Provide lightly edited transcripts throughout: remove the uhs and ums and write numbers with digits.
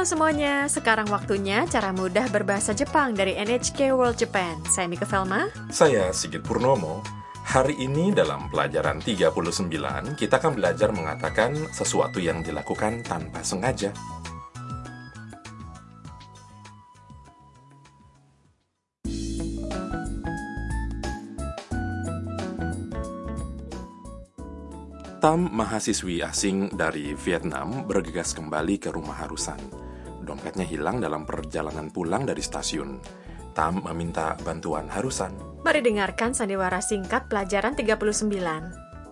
semuanya, sekarang waktunya cara mudah berbahasa Jepang dari NHK World Japan. Saya Mika Velma. Saya Sigit Purnomo. Hari ini dalam pelajaran 39, kita akan belajar mengatakan sesuatu yang dilakukan tanpa sengaja. Tam, mahasiswi asing dari Vietnam, bergegas kembali ke rumah Harusan. Dompetnya hilang dalam perjalanan pulang dari stasiun. Tam meminta bantuan Harusan. Mari dengarkan sandiwara singkat pelajaran 39.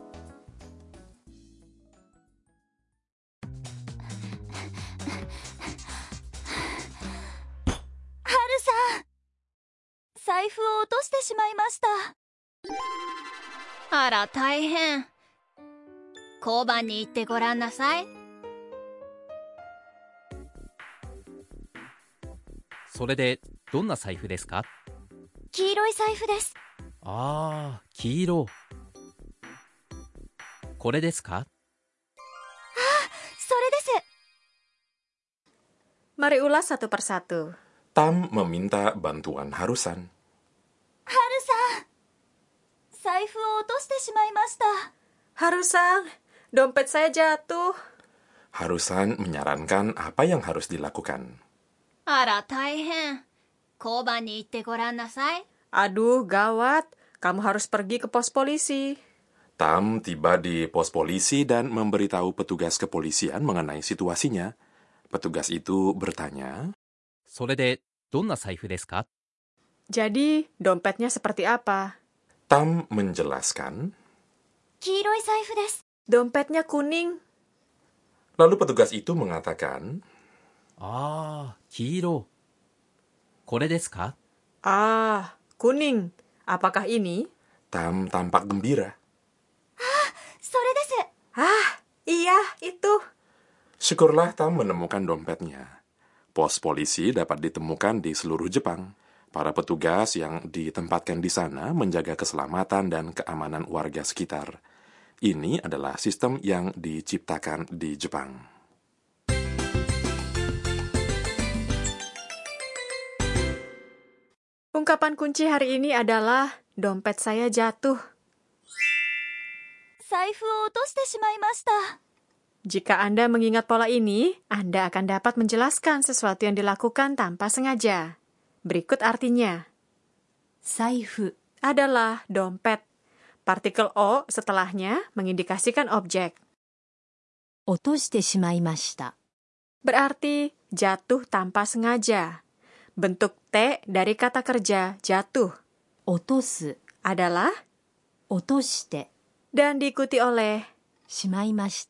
Haru-san! 財布を落としてしまいました。あら、大変。交番に行ってごらんなさい。 それでどんな財布ですか？ 黄色い財布です。 ああ、黄色。これですか？ それです。 Mari ulas satu persatu. Tam meminta bantuan Harusan. ハルさん、財布を落としてしまいました。 Harusan, dompet saya jatuh. Harusan menyarankan apa yang harus dilakukan. あら、大変。交番に行ってごらんなさい。 Aduh, gawat. Kamu harus pergi ke pos polisi. Tam tiba di pos polisi dan memberitahu petugas kepolisian mengenai situasinya. Petugas itu bertanya, それでどんな財布ですか？ Jadi, dompetnya seperti apa? Tam menjelaskan. 黄色い財布です。 Dompetnya kuning. Lalu petugas itu mengatakan, ああ、黄色。これですか？ Ah, kuning. Apakah ini? Tam tampak gembira. それです。 Ah, iya, itu. Syukurlah Tam menemukan dompetnya. Pos polisi dapat ditemukan di seluruh Jepang. Para petugas yang ditempatkan di sana menjaga keselamatan dan keamanan warga sekitar. Ini adalah sistem yang diciptakan di Jepang. Ungkapan kunci hari ini adalah dompet saya jatuh. 財布を落としてしまいました。 Jika Anda mengingat pola ini, Anda akan dapat menjelaskan sesuatu yang dilakukan tanpa sengaja. Berikut artinya. 財布 Adalah dompet. Partikel O setelahnya mengindikasikan objek. 落としてしまいました。 Berarti jatuh tanpa sengaja. Bentuk T dari kata kerja jatuh 落とす adalah 落として dan diikuti oleh しまいました。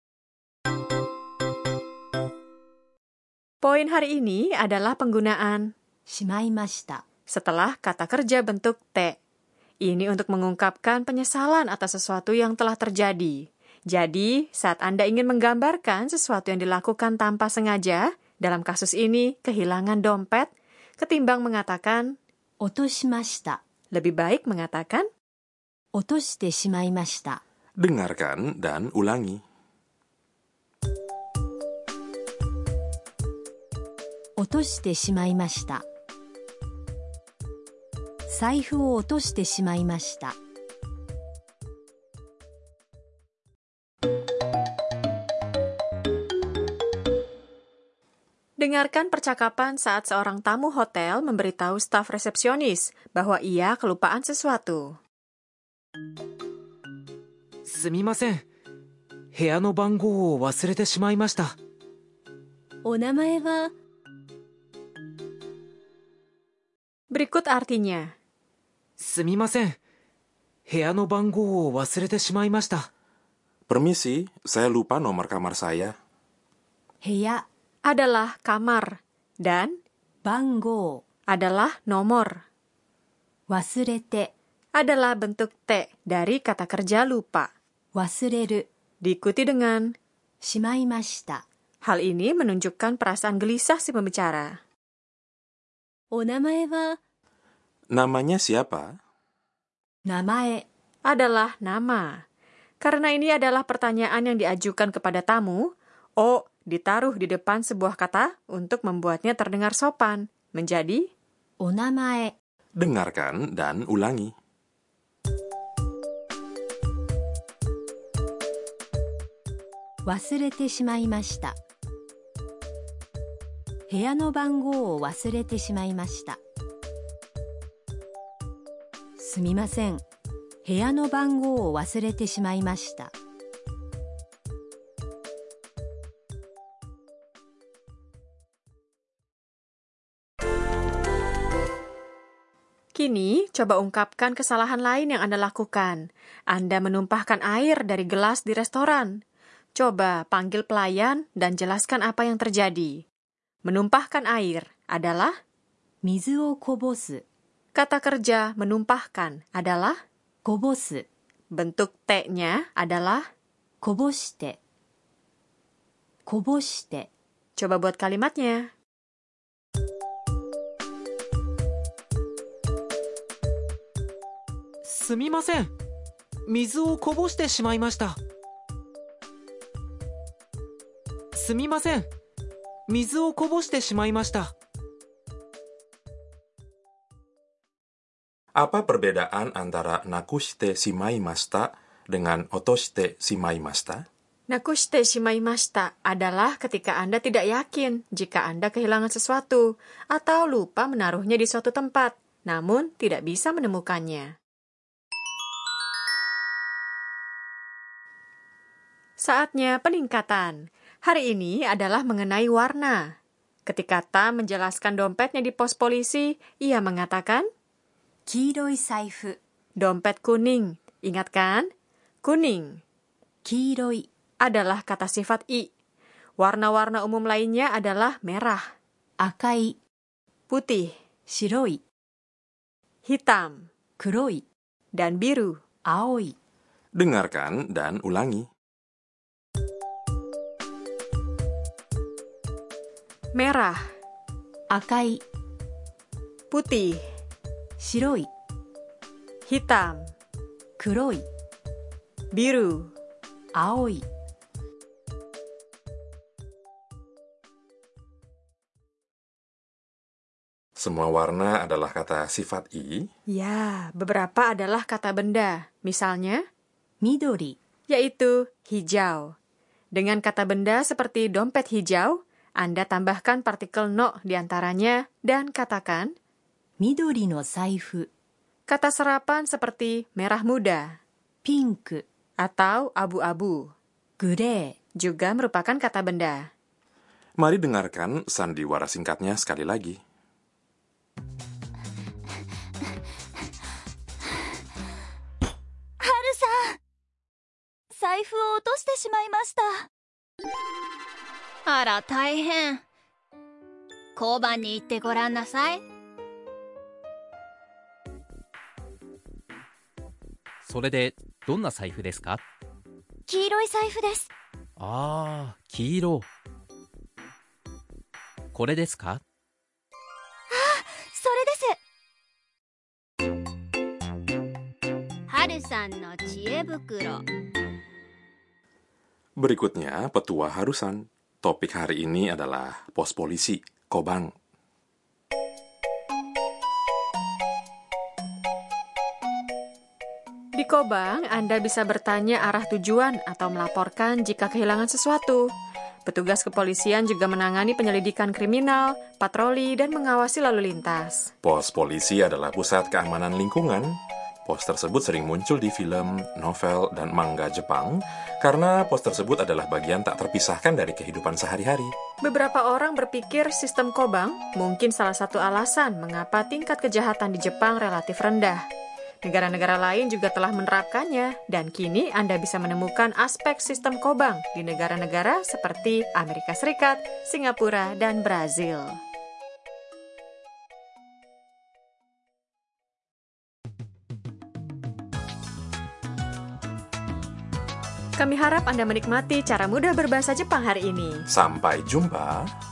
poin hari ini adalah penggunaan しまいました。 setelah kata kerja bentuk T. Ini untuk mengungkapkan penyesalan atas sesuatu yang telah terjadi. Jadi, saat Anda ingin menggambarkan sesuatu yang dilakukan tanpa sengaja, dalam kasus ini kehilangan dompet, ketimbang mengatakan 落としました。 lebih baik mengatakan 落としてしまいました。 Dengarkan dan ulangi. 落としてしまいました。財布を落としてしまいました。 Dengarkan percakapan saat seorang tamu hotel memberitahu staf resepsionis bahwa ia kelupaan sesuatu. すみません。部屋の番号を忘れてしまいました。 お名前は Berikut artinya. すみません。部屋の番号を忘れてしまいました。 Permisi, saya lupa nomor kamar saya. 部屋 Adalah kamar dan 番号 adalah nomor. 忘れて Adalah bentuk T dari kata kerja lupa. 忘れる Diikuti dengan しまいました。 hal ini menunjukkan perasaan gelisah si pembicara. お名前は Namanya siapa? 名前 adalah nama. Karena ini adalah pertanyaan yang diajukan kepada tamu, O ditaruh di depan sebuah kata untuk membuatnya terdengar sopan, menjadi お名前、 Dengarkan dan ulangi. 忘れてしまいました。部屋の番号を忘れてしまいました。すみません。部屋の番号を忘れてしまいました。 Kini, coba ungkapkan kesalahan lain yang Anda lakukan. Anda menumpahkan air dari gelas di restoran. Coba panggil pelayan dan jelaskan apa yang terjadi. Menumpahkan air adalah 水をこぼす、 kata kerja menumpahkan adalah こぼす、 bentuk T-nya adalah こぼして、こぼして。 coba buat kalimatnya. すみません。水をこぼしてしまいました。すみません。水をこぼしてしまいました。 Apa perbedaan antara nakushite shimaimashita dengan otoshite shimaimashita? Nakushite shimaimashita adalah ketika Anda tidak yakin jika Anda kehilangan sesuatu atau lupa menaruhnya di suatu tempat, namun tidak bisa menemukannya. Saatnya peningkatan. Hari ini adalah mengenai warna. Ketika Tam menjelaskan dompetnya di pos polisi, ia mengatakan, 黄色い財布、 dompet kuning. Ingat kan? Kuning 黄色い、 adalah kata sifat i. Warna-warna umum lainnya adalah merah, 赤い、 putih, 白い、 hitam, 黒い、 dan biru. 青い。 Dengarkan dan ulangi. Merah, 赤い、 putih, 白い、 hitam, 黒い、 biru. 青い。 Semua warna adalah kata sifat i. Ya, beberapa adalah kata benda. Misalnya, 緑、 yaitu hijau. Dengan kata benda seperti dompet hijau, Anda tambahkan partikel no di antaranya dan katakan 緑の財布、 kata serapan seperti merah muda ピンク、 atau abu-abu. グレー、 Juga merupakan kata benda. Mari dengarkan sandiwara singkatnya sekali lagi. 財布を落としてしまいました。 あら大変。交番に行ってごらんなさい。 それでどんな財布ですか？ 黄色い財布です。 ああ、黄色。これですか？ それです。 はるさんの知恵袋。 Berikutnya, petua harusan. Topik hari ini adalah pos polisi, Kobang. Di Kobang, Anda bisa bertanya arah tujuan atau melaporkan jika kehilangan sesuatu. Petugas kepolisian juga menangani penyelidikan kriminal, patroli, dan mengawasi lalu lintas. Pos polisi adalah pusat keamanan lingkungan. Pos tersebut sering muncul di film, novel, dan manga Jepang karena pos tersebut adalah bagian tak terpisahkan dari kehidupan sehari-hari. Beberapa orang berpikir sistem Kobang mungkin salah satu alasan mengapa tingkat kejahatan di Jepang relatif rendah. Negara-negara lain juga telah menerapkannya, dan kini Anda bisa menemukan aspek sistem Kobang di negara-negara seperti Amerika Serikat, Singapura, dan Brazil. Kami harap Anda menikmati cara mudah berbahasa Jepang hari ini. Sampai jumpa.